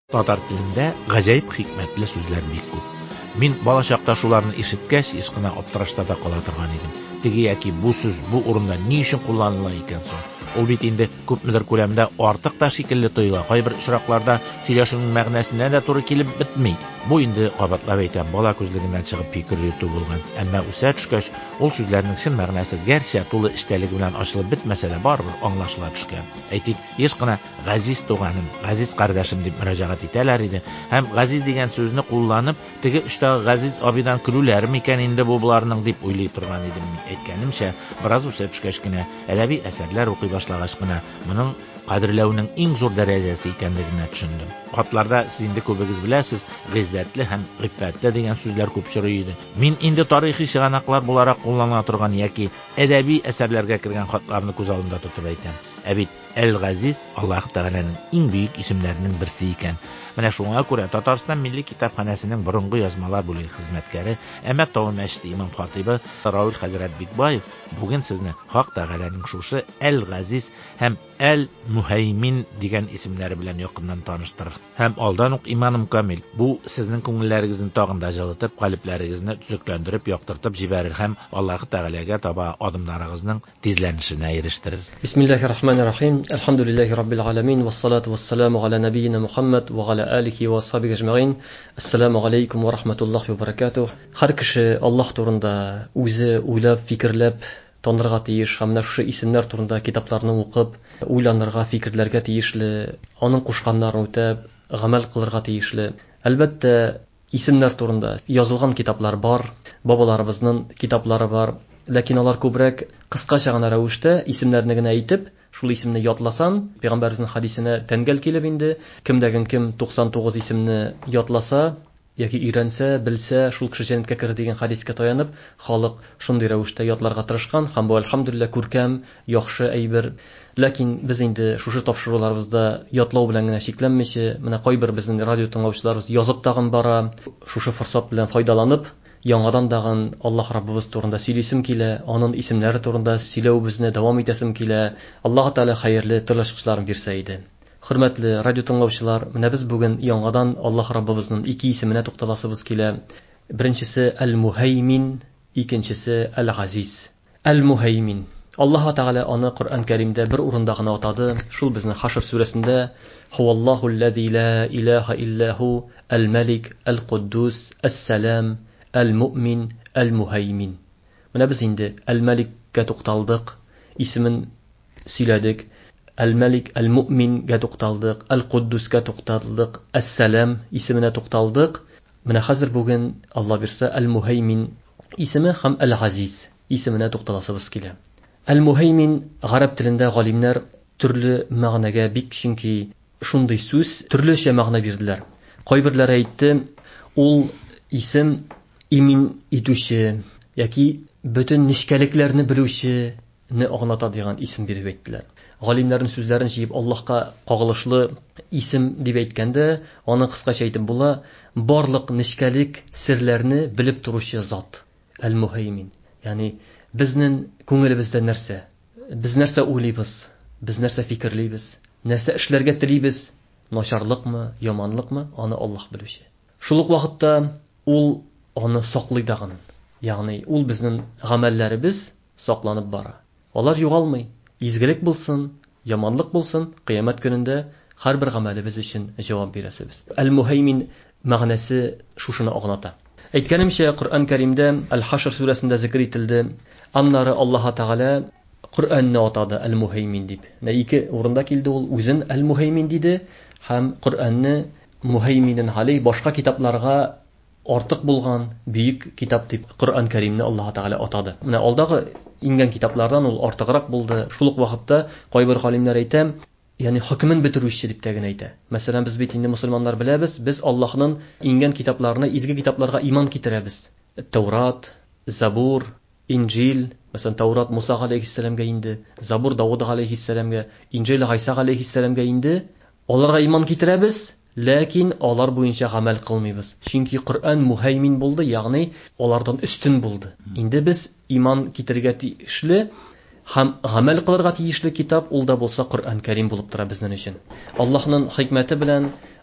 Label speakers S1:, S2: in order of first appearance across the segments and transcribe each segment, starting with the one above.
S1: Татар телендә гаҗәеп хикмәтле сүзләр бик күп. Мин бала чакта шуларны ишеткәч, ишкына аптырашта кала торган идем. Теге яки бу сүз бу урында ни өчен кулланыла икән соң? Ул бит инде күпмедер күләмдә артык та шикелле тоела. Кайбер очракларда сөйләшүнең мәгънәсенә дә туры килеп бетми. Бу инде кабатлап әйтәм, бала күзлегеннән чыгып фикер йөртү булган. Әмма үсә төшкәч, ул сүзләрнең чын мәгънәсе гәрчә тулы эчтәлеге белән ачылып бетмәсә дә барыбер аңлашыла төшкән. Әйтик, еш кына Газиз туганым, Газиз кардәшем дип мөрәҗәгать итәләр иде. Һәм Газиз дигән сүзне кулланып, теге оштагы Газиз абыйдан көлүләр микән инде бу буларның дип уйлый торган идем. Әйткәнемчә, бераз үсә төшкәч кенә, әдәби әсәрләр укый башлагач кына, моның кадерләүнең иң зур дәрәҗәсе икәнлегенә төшендем. Хатларда сез инде күбегез беләсез, гыйззәтле һәм гыйффәтле дигән сүзләр күп чорый иде. Мин инде тарихи чыганаклар буларак кулланыла торган яки әдәби әсәрләргә кергән хатларны күз алдымда тотып әйтәм. Ә бит Әл-Газиз Аллаһ Тәгаләнең иң бөек исемнәренең берсе икән. Менә шуңа күрә Татарстан Милли китапханәсенең борынгы язмалар бүлеге хезмәткәре, Әмәт Тау мәчете имам хатибы Рауил хәзрәт Бикбаев бүген сезне Хак Тәгаләнең шушы Әл-Газиз һәм Әл-Мухәймин дигән исемнәре белән якыннан таныштырыр. Һәм алдан ук иманым камил, бу сезнең күңелләрегезне тагын да җылытып, калебләрегезне төзекләндереп, яктыртып җибәрер һәм Аллаһ Тәгаләгә таба адымнарыгызның тизләнешенә ирештерер.
S2: Бисмиллаһир-рахманир-рахим. Алхамдулиллаһи раббил аламин ва ссалату ва ссаламу ала набийина Мухаммад ва ала алихи ва асхабиhi аҗмаин. Ассаламу алейкум ва рахматуллаһи ва баракатух. Һәр кеше Аллаһ турында үзе уйлап, фикерләп танырга тиеш, һәм шушы исемнәр турында китапларны укып, уйланырга, фикерләргә тиешле, аның кушканнарын үтәп, гамәл кылырга тиешле. Әлбәттә, исемнәр турында язылган китаплар бар, бабаларыбызның китаплары бар, ләкин алар күбрәк кыскача гына рәвештә исемнәрне генә әйтеп, шул исемне ятласан, Пәйгамбәребезнең хадисенә тәнгәл килеп инде, кемдәген кем 99 исемне ятласа яки өйрәнсә, белсә, шул кеше җәннәткә керер дигән хадискә таянып, халык шундый рәвештә ятларга тырышкан, һәм бу әлхәмдүлилләh күркәм, яхшы әйбер. Ләкин без инде шушы тапшыруларыбызда ятлау белән генә шикләнмичә, менә кайбер безнең радио тыңлаучыларыбыз язып тагын бара, шушы форсат белән файдаланып, яңадан дагын Аллаһ Раббыбыз турында сөйлисем килә, аның исемнәре турында сөйләүебезне дәвам итәсем килә. Аллаһ Тәгалә хәерле тырышлыкларын бирсә иде. Хөрмәтле радио тыңлаучылар, менә без бүген яңадан Аллаһ Раббыбызның ике исеменә тукталасыбыз килә. Беренчесе Әл-Мухәймин, икенчесе Әл-Газиз. Әл-Мухәймин. Аллаһ Тәгалә аны Коръән Кәримдә бер урында гына атады. Шул безнең Хашр сүрәсендә Хуаллаһу-ллазӣ ла илаһа иллаһу әл-Малик, әл-Куддус, әс-Сәлам, әл-Муъмин, әл-Мухәймин. Менә без инде Әл-Маликкә тукталдык, исемен сөйләдек. Әл-Малик, әл-Муъмингә тукталдык, әл-Куддускә тукталдык, әс-Сәлам исеменә тукталдык. Менә хәзер бүген Алла бирсә Әл-Мухәймин исеме һәм Әл-Газиз исеменә тукталасыбыз килә. Әл-Мухәймин гарәп телендә галимнәр төрле мәгънәгә бик, чөнки шундый сүз төрлечә мәгънә бирделәр. Кайберләре әйтте, ул исем имин итүче яки бөтен нечкәлекләрне белүчене аңлата дигән исем биреп әйттеләр. Галимнәрнең сүзләрен җыеп Аллаһка кагылышлы исем дип әйткәндә, аны кыскача әйтеп була, барлык нечкәлек серләрне белеп торучы зат. Әл-Мухәймин. Ягъни безнең күңелебездә нәрсә? Без нәрсә уйлыйбыз? Без нәрсә фикерлибез? Нәрсә эшләргә телибез? Начарлыкмы, яманлыкмы? Аны Аллаһ белүче. Шул ук вакытта ул аны саклый дагын. Ягъни ул безнең гамәлләребез сакланып бара. Алар югалмый. Изгелек булсын, яманлык булсын, кыямәт көнендә һәрбер гамәлебез өчен җавап бирәсебез. Әл-Мухәймин мәгънәсе шушыны аңлата. Әйткәнемчә, Коръән Кәримдә Әл-Хашр сүрәсендә зикр ителде. Аннары Аллаһ Тәгалә Коръәнне атады Әл-Мухәймин дип. Ике урында килде ул, үзен Әл-Мухәймин диде һәм Коръәнне Мухәйминен галей башка китапларга артык булган бөек китап дип Коръән Кәримне Аллаһ Тәгалә атады. Менә алдагы ингән китаплардан ул артыграк булды. Шул ук вакытта кайбер галимнәр әйтә, ягъни хөкмен бетерүче дип тәгән әйтә. Мәсәлән, без бит инде мусульманнар беләбез, без Аллаһның ингән китапларына, изге китапларга иман китерәбез. Таурат, Забур, Инҗил, мәсәлән, Таурат Муса галейһиссәламгә инде, Забур Дауд галейһиссәламгә, Инҗил Гайса галейһиссәламгә инде. Аларга иман китерәбез, ләкин алар буенча гамәл кылмыйбыз. Чөнки Коръән Мухәймин булды, ягъни алардан үстен булды. Инде без иман китергә тиешле һәм гамәл кылырга тиешле китап ул да булса Коръән Кәрим булып тора безнең өчен. Аллаһның хикмәте белән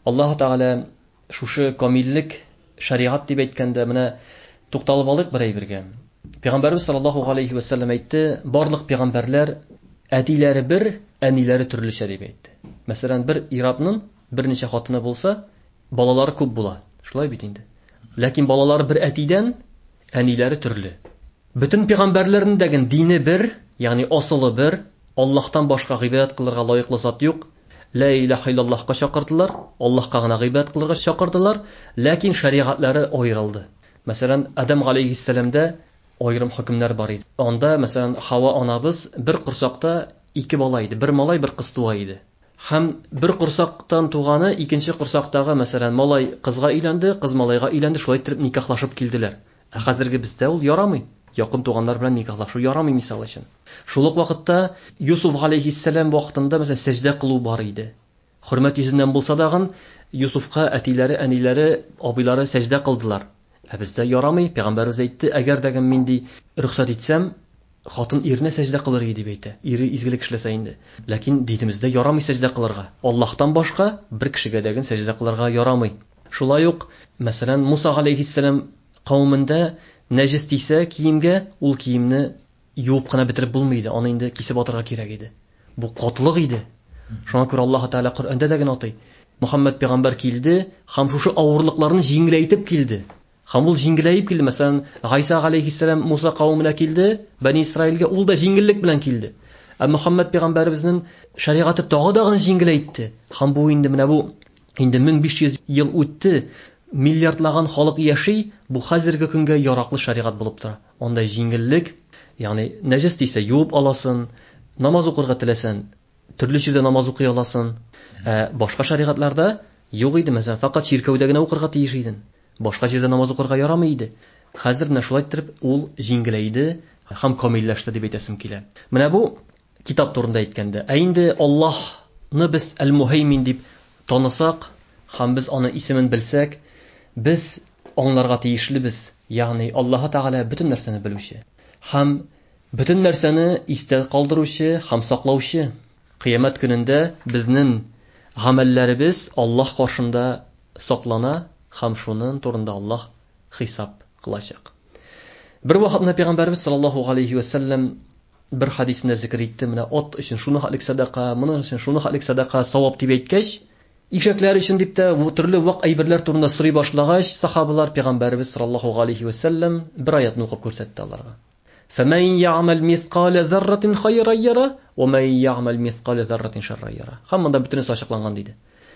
S2: Аллаһ Тәгалә шушы камиллек шариат дип әйткәндә менә тукталып алыйк бер әйбергә. Пәйгамбәрбез саллаллаһу алейхи ва саллям әйтте, барлык пәйгамбәрләр әтиләре бер, әниләре төрлечә дип әйтте. Мәсәлән, бер иратның берничә хатыны булса, балалары күп була. Шулай бит инде. Ләкин балалары бер әтидән, әниләре төрле. Бөтен пәйгамбәрләрнең дә дине бер, ягъни асылы бер, Аллаһтан башка гыйбадат кылырга лаеклы зат юк. Ла илаха иллаллаһка чакырдылар, Аллаһка гына гыйбадат кылырга чакырдылар, ләкин шаригатлары аерылды. Мәсәлән, Адам алейхиссаламда айрым хөкемнәр бар иде. Анда, мәсәлән, Хава анабыз бер курсакта 2 бала иде, бер малай, бер кыз туа иде. Һәм бер курсактан туганы икенче курсактагы, мәсәлән, малай кызга өйләнде, кыз малайга өйләнде, шулай итеп никахлашып килделәр. Хәзерге бездә ул ярамый. Якын туганнар белән никахлашу ярамый мисал өчен. Шул ук вакытта Юсуф алейхиссалам вакытында мәсәлән сәҗдә кылу бар иде. Хөрмәт йөзеннән булса да Юсуфка әтиләре, әниләре, абыйлары сәҗдә кылдылар. Бездә ярамый. Пәйгамбәрбез әйтте, әгәр дә мин ди рөхсәт итсәм, хатын иренә сәҗдә кылыр иде дип әйтә. Ире изгелек эшләсә инде. Ләкин динебездә ярамый сәҗдә кылырга. Аллаһтан башка бер кешегә дә сәҗдә кылырга ярамый. Шулай ук, мәсәлән, Муса алейхиссалам кавымында нәҗес тисә киемгә, ул киемне юып кына бетереп булмый иде. Аны инде кисеп атырга кирәк иде. Бу катлык иде. Шуңа күрә Аллаһ Тәгалә Коръәндә дә атый. Мөхәммәд пәйгамбәр килде, һәм шушы авырлыкларны җиңеләйтеп килде. Һәм ул җиңеләйеп килде. Мәсәлән, Гайса алейхиссалам Муса кавымына килде, Бәни Исраилгә ул да җиңеллек белән килде. Мөхәммәд пәйгамбәребезнең шаригаты тагы да җиңеләйтте. Һәм бу инде менә бу инде 1500 ел үтте. Миллиардлаган халык яши, бу хәзерге көнгә яраклы шаригат булып тора. Анда җиңеллек, ягъни нәҗес тисә юып аласың, намаз укырга теләсәң, төрле җирдә намаз укый аласың. Башка шаригатларда юк иде, мәсәлән, фақат чиркәүдә генә укырга тиеш идең. Башка җирдә намаз укырга ярамый иде. Хәзер менә шулай итеп ул җиңеләйде һәм камилләште дип әйтәсем килә. Менә бу китап турында әйткәндә. Инде Аллаһны без Әл-Мухаймин дип танысак, һәм без аны исемен белсәк, biz аңларга тиешлебез. Ягъни Аллаһ Тәгалә бөтен нәрсәне белүче һәм бөтен нәрсәне истә калдыручы һәм саклаучы. Кыямәт көнендә безнең гамәлләребез Аллаһ каршында саклана һәм шуның турында Аллаһ хисап кылачак. Бер вакытта Пәйгамбәрбез саллаллаһу алейхи ва саллям бер хадисендә зикр итте, менә ат өчен шуны халык садака, моның өчен шуны халык садака савап дип әйткәч, ишәкләр өчен дип тә төрле вак әйберләр турында сорый башлагач, сахабалар Пәйгамбәрбез саллаллаһу алейхи ва саллям бер аятны укып күрсәтте аларга. فَمَنْ يَعْمَلْ مِثْقَالَ ذَرَّةٍ خَيْرًا يَرَهُ وَمَنْ يَعْمَلْ مِثْقَالَ ذَرَّةٍ شَرًّا يَرَهُ. Һәм монда бөтенесе ачыкланган диде.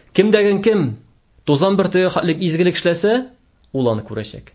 S2: Кем тузан бөртеге халык изгелек эшләсә, ул аны күрәчәк.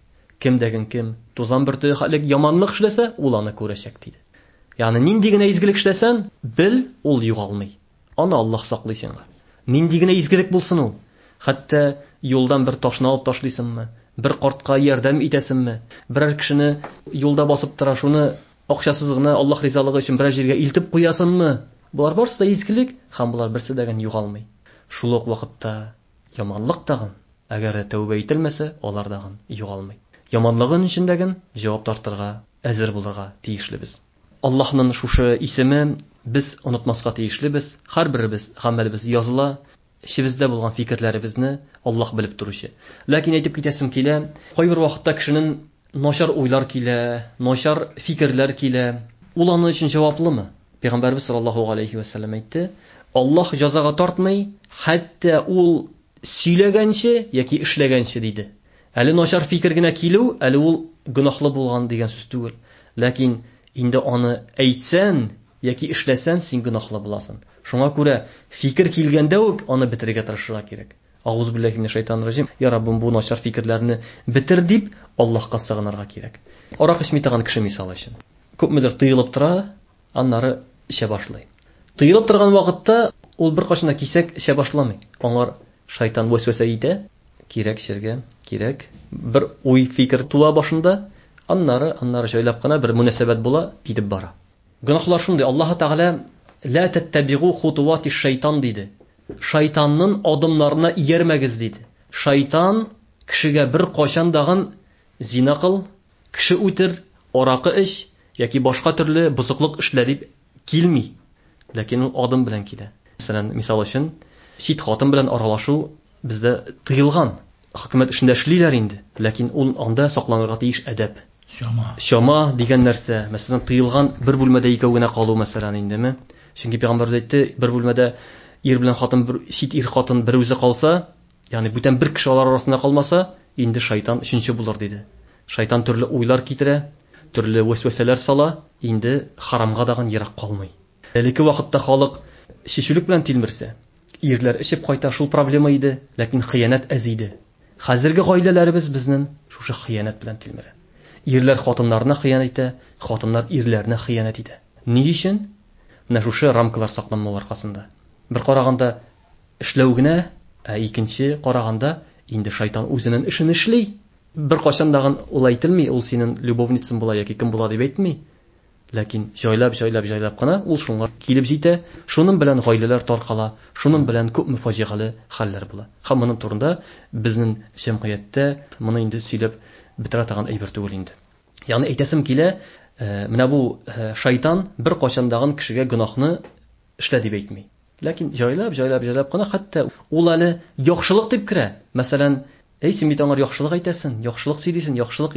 S2: Кем тузан бөртеге халык яманлык эшләсә, ул аны күрәчәк диде. Ягъни нинди генә изгелек эшләсәң, бел, ул югалмый. Аны Аллаһ саклый сиңа. Нинди генә изгелек булсын ул. Хәтта юлдан бер ташны алып ташлыйсыңмы, бер картка ярдәм итәсеңме, берәр кешене юлда басып тора, шуны акчасыз гына Аллаһ ризалыгы өчен берәр җиргә илтеп куясыңмы? Булар барысы да изгелек, һәм булар берсе дә югалмый. Шул ук вакытта яманлык тагын, әгәр дә тәүбә ителмәсә, алар дагын югалмый. Яманлыгын өчен җавап тартырга әзер булырга тиешлебез. Аллаһның шушы исеме без онытмаска тиешлебез. Һәрберебез гамәлебез языла. Шибездә булган фикерләребезне Аллаһ белеп торучы. Ләкин әйтеп китәсем килә, кайбер вакытта кешенең начар уйлар килә, начар фикерләр килә. Ул аны өчен җаваплымы? Пәйгамбәрбез саллаллаһу алейхи ва саллям әйтте: Аллаһ җәзага тартмый, хәтта ул сөйләгәнче яки эшләгәнче диде. Әле начар фикер генә килү, әле ул гөнаһлы булган дигән сүз түгел. Ләкин инде аны әйтсәң яки эшләсәң, син гөнаһлы буласың. Шуңа күрә фикер килгәндә үк аны бетерергә тырышырга кирәк. Ауз биллаһи минәш шайтанир раҗим. Я Раббым, бу начар фикерләрне бетер дип Аллаһка сыгынырга кирәк. Арак эчми торган кеше мисал өчен. Күпмедер тыелып тора, аннары эчә башлый. Тыелып торган вакытта ул бер кашына кисәк эчә башламый. Аңар шайтан вәсвәсә итә, кирәк эчәргә, кирәк. Бер уй фикер туа башында, аннары җайлап кына бер мөнәсәбәт була, китеп бара. Гөнаһлар шундый. Аллаһ Тәгалә ла таттабигу хутуати шайтан диде. Шайтанның адымларына иярмәгез диде. Шайтан кешегә бер кашан дагын зина кыл, кеше үтер, аракы эч яки башка төрле бузыклык эшләр дип килми. Ләкин ул адым белән килә. Мәсәлән, мисал өчен, чит хатын белән аралашу бездә тыелган. Хөкүмәт эшендә эшлиләр инде, ләкин ул анда сакланырга тиеш әдәп. Шама дигән нәрсә, мәсәлән, тыелган бер бүлмәдә икәү генә калу мәсәлән инде. Чөнки пәйгамбәр әйтте, бер бүлмәдә ир белән хатын, чит ир хатын бер үзе калса, ягъни бүтән бер кеше алар арасында калмаса, инде шайтан өченче булыр диде. Шайтан төрле уйлар китерә, төрле вәсвәсәләр сала, инде харамга даган ерак калмый. Әлеге вакытта халык шишүлек белән тилмерсә, ирләр эчеп кайта, шул проблема иде, ләкин хыянат әз иде. Хәзерге гаиләләребез безнең шушы хыянат белән тилмерә. Ирләр хатыннарына хыянат итә, хатыннар ирләренә хыянат итә. Ни өчен? Менә шушы рамкалар сакланмау аркасында. Бер караганда эшләү генә, икенче караганда инде шайтан үзенең эшен эшли. Бер качан дагын ул әйтелми, ул синең любовницаң була яки кем була дип әйтми. Ләкин җайлап кына ул шуңа килеп җитә, шуның белән гаиләләр таркала, шуның белән күп мөфаҗигале хәлләр була. Һәм моның турында безнең җәмгыятьтә моны инде сөйләп бетерә торган әйбер түгел инде. Ягъни әйтәсем килә, менә бу шайтан бер качан дагын кешегә гөнаһны эшлә дип әйтми. Ләкин җайлап кына хәтта ул әле яхшылык дип керә. Мәсәлән, син бит аңар яхшылык әйтәсең, яхшылык сөйлисең,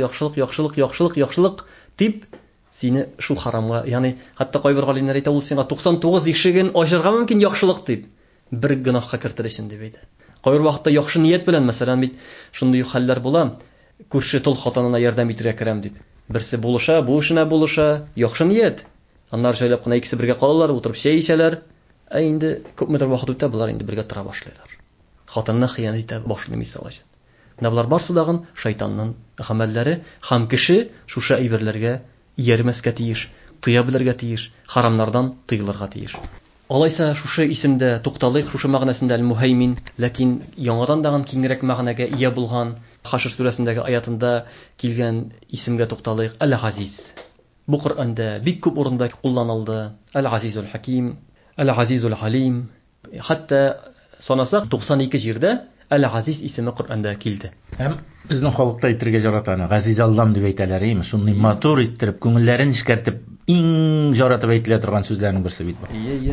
S2: яхшылык дип сине шул харамга, ягъни хәтта кайбер галимнәр әйтә, ул сиңа 99 ишеген ачырга мөмкин яхшылык дип, бер гөнаһка кертер өчен дип әйтә. Кайбер вакытта яхшы ният белән, мәсәлән, бит шундый хәлләр була, күрше тол хатынына ярдәм итәргә керәм дип. Берсе булыша, бу эшенә булыша, яхшы ният. Аннар җайлап кына икесе бергә калалар, утырып чәй ичәләр. Инде күпмедер вакыт үтә, булар инде бергә тора башлыйлар. Хатынны хыянат итә башлый мисал өчен. Менә булар барсы дагын шайтанның гамәлләре, һәм кеше шушы әйберләргә иярмәскә тиеш, тыя белергә тиеш, харамнардан тыелырга тиеш. Алайса шушы исемдә тукталыйк, шушы мәгънәсендә аль-мухаймин, ләкин яңадан дагын киңрәк мәгънәгә ия булган Хашр сүрәсендәге аятында килгән исемгә тукталыйк, Әл-Газиз. Бу Коръәндә бик күп урында кулланылды. Әл-Газизул Хаким, Әл-Газизул Халим. Хәтта санасак 92 җирдә Әл-Газиз исеме Коръәндә килде.
S1: Һәм безнең халыкта әйтергә жаратаны, Газиз Аллам дип әйтәләр, име? Шуны матур иттереп, күңелләрен ишкәртеп, иң жаратып әйтелә торган сүзләрнең берсе бит бу.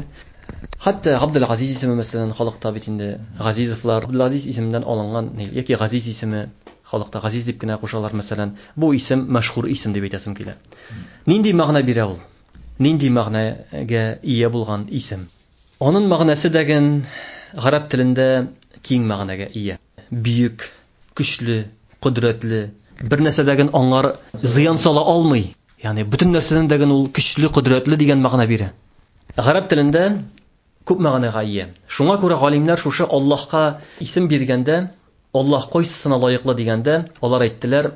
S2: Хәтта Абдул-Газиз исеме мәсәлән халыкта бит инде Газизовлар, Абдул-Газиз исемендән алынган, яки Газиз исеме халыкта Газиз дип кенә кушалар мәсәлән. Бу исем мәшһүр исем дип әйтәсем килә. Нинди мәгънә бирә ул? Нинди мәгънәгә ия булган исем? Аның мәгънәсе дәген гарәп телендә киң мәгънәгә ия. Бүйек, көчле, кудрәтле, бер нәрсәдәген аңар зыян сала алмый. Ягъни бүтән нәрсәдән дәген ул көчле, кудрәтле дигән мәгънә бирә. Гарәп телендә күп мәгънәгә ия. Шуңа күрә галимнәр шушы Аллаһка исем биргәндә, Аллаһ кайсысына лаеклы дигәндә, алар әйттеләр,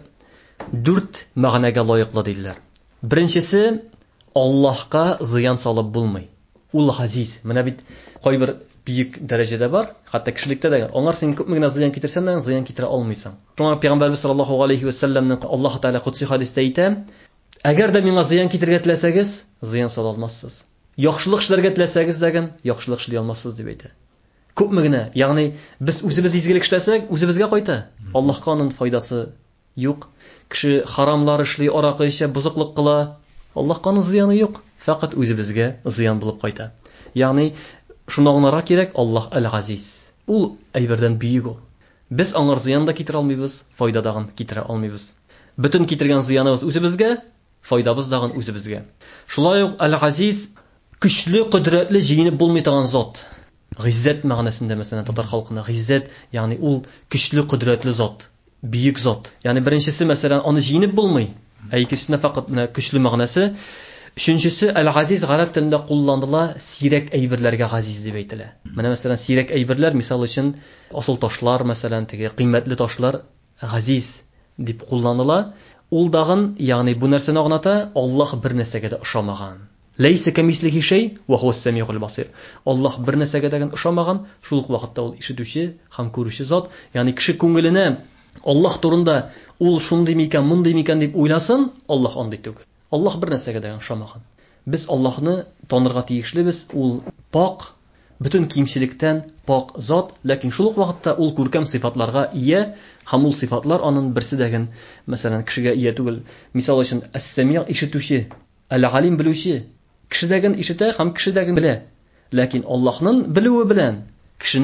S2: 4 мәгънәгә лаеклы диделәр. Беренчесе, Аллаһка зыян салып булмый. Ул Газиз. Менә бит кайбер бийек дәрәҗәдә бар, хәтта кешелектә дә аңар син күпме генә зыян китерсәң дә зыян китерә алмыйсың. Шуңа Пәйгамбәрбез саллаллаһу алейхи ва салламның Аллаһ Тәала кутси хадистә әйтә, әгәр дә миңа зыян китергә теләсәгез, зыян сала алмассыз. Яхшылык эшләргә теләсәгез дәген, яхшылык эшли алмассыз дип әйтә. Күпме генә, ягъни без үзебез изгелек эшләсәк, үзебезгә кайта. Аллаһка аның файдасы юк. Кеше харамлар эшли, аракы эчә, бузыклык кыла, Аллаһка аның зыяны юк. Фақат үзебезгә зыян булып кайта. Ягъни шуны аңларга кирәк, Аллаһ Әл-Газиз. Ул әйбердән бийек ул. Без аңар зыян да китерә алмыйбыз, файда дагын китерә алмыйбыз. Бүтән китергән зыяныбыз үзебезгә, файдабыз дагын үзебезгә. Шулай ук Әл-Газиз көчле, кудрәтле, җиңеп булмый торган зат. Гыйззәт мәгънәсендә мәсәлән татар халкында гыйззәт, ягъни ул көчле, кудрәтле зат, бийек зат. Ягъни беренчесе мәсәлән аны җиңеп булмый. Икенчесенә фақат көчле мәгънәсе. Өченчесе Әл-Газиз гарәп телендә кулланыла, сирәк әйберләргә газиз дип әйтелә. Менә мәсәлән сирәк әйберләр, мисал өчен асыл ташлар, мәсәлән теге кыйммәтле ташлар газиз дип кулланыла. Ул дагын, ягъни бу нәрсәне аңлата, Аллаһ бер нәрсәгә дә ошамаган. Лейса камислихи шей ва хуа ас-самиул басир. Аллаһ бер нәрсәгә дә ошамаган, шул ук вакытта ул ишетүче һәм күрүче зат. Ягъни кеше күңеленә Аллаһ турында ул шундый микән, мондый микән дип уйласын, Аллаһ андый түгел. Аллаһ бер нәрсәгә дә ошамаган. Без Аллаһны танырга тиешлебез, ул пак, бүтән кимчелектән пак зат, ләкин шул ук вакытта ул күркәм сыйфатларга ия, һәм ул сыйфатлар аның берсе дәген, мәсәлән, кешегә ия түгел. Мисал өчен ас-сами' ишетүче, әл-алим белүче, кеше дәген ишетә һәм кеше дәген белә. Ләкин Аллаһның белүе белән кешенең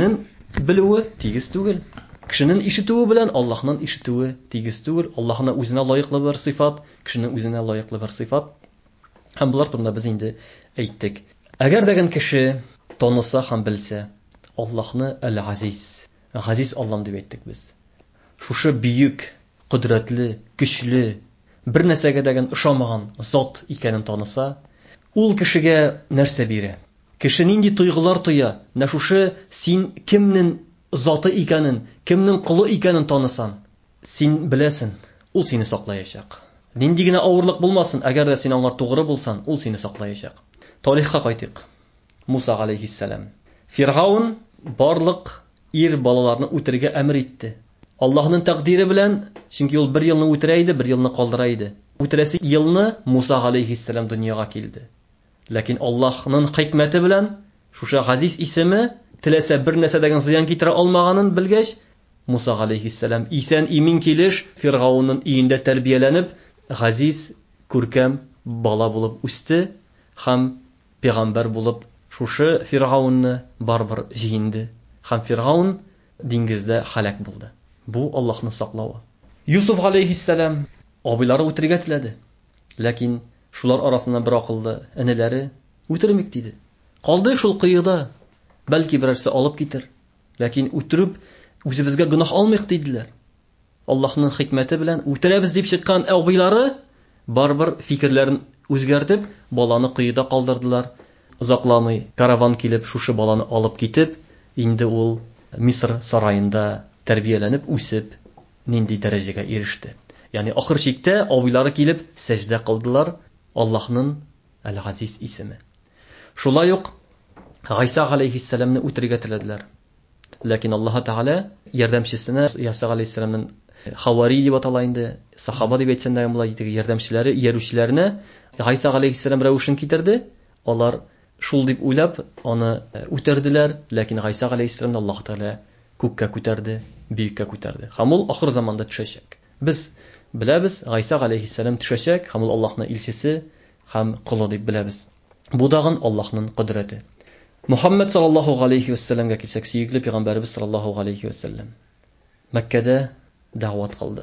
S2: белүе тигез түгел. Кешенең ишетүе белән Аллаһның ишетүе тигез түгел. Аллаһның үзенә лаеклы бер сыйфат, кешенең үзенә лаеклы бер сыйфат. Һәм булар турында без инде әйттек. Әгәр дәгән кеше таныса һәм белсә, Аллаһны Әл-Азиз, Газиз Аллам дип әйттек без. Шушы бүйек, кодрәтле, көчле, бер нәрсәгә дәгән ышанмаган зат икәнен таныса, ул кешегә нәрсә бирә? Кеше нинди тойгылар тоя? Нә шушы син кемнең заты икәнен, кемнең кулы икәнен танысан, син беләсен, ул сине саклаячак. Нинди генә авырлык булмасын, әгәр дә син аңар тугры булсан, ул сине саклаячак. Тарихка кайтыйк. Муса алейхиссалам. Фиргаун барлык ир балаларны үтерергә әмер итте. Аллаһның тәкъдире белән, чөнки ул бер елны үтерә иде, бер елны калдыра иде. Үтерәсе елны Муса алейхиссалам дөньяга килде. Ләкин Аллаһның хикмәте белән шушы Газиз исеме теләсә бер нәрсә дәгән зыян китерә алмаганын белгәч, Муса алейхиссалам исән имин килеш Фиргаунның өендә тәрбияләнеп, Газиз күркәм бала булып үсте һәм пәйгамбәр булып шушы Фиргаунны барбыр җиңде. Һәм Фиргаун диңгездә халак булды. Бу Аллаһның саклавы. Юсуф алейхиссалам абыйлары үтергә теләде. Ләкин шулар арасында бер акыллы энеләре үтермик диде. Калдык шул кыйыда. Бәлки берәрсе алып китер. Ләкин үтереп үзебезгә гөнаһ алмыйк диделәр. Аллаһның хикмәте белән үтерәбез дип чыккан абыйлары барбыр фикерләрен үзгәртеп, баланы кыйыда калдырдылар. Узакламый караван килеп шушы баланы алып китеп, инде ул Мисыр сараенда тәрбияләнеп үсеп, нинди дәрәҗәгә иреште. Ягъни ахыр чиктә абыйлары килеп сәҗдә кылдылар Аллаһның Әл-Газиз исеме. Шулай ук Гайса алейхиссаламны үтергә теләделәр. Ләкин Аллаһ Тәгалә ярдәмчесенә Яса алейхиссаламның Хавари дип атала инде, сахаба дип әйтсәң дә була, ярдәмчеләре, иярүчеләренә Гайса алейхиссалам рәвешен китерде. Алар шул дип уйлап аны үтерделәр, ләкин Гайса алейхиссаламны Аллаһ Тәгалә күккә күтәрде, биеккә күтәрде. Һәм ул ахыр заманда төшәчәк. Без беләбез, Гайса алейхиссалам төшәчәк, һәм ул Аллаһның илчесе һәм кулы дип беләбез. Бу дагын Аллаһның кудрәте. Мухаммад саллаллаху алейхи ва салламга килсәк, сөйгеле пәйгамбәрбез саллаллаху алейхи ва саллам Мәккәдә дәгъват кылды.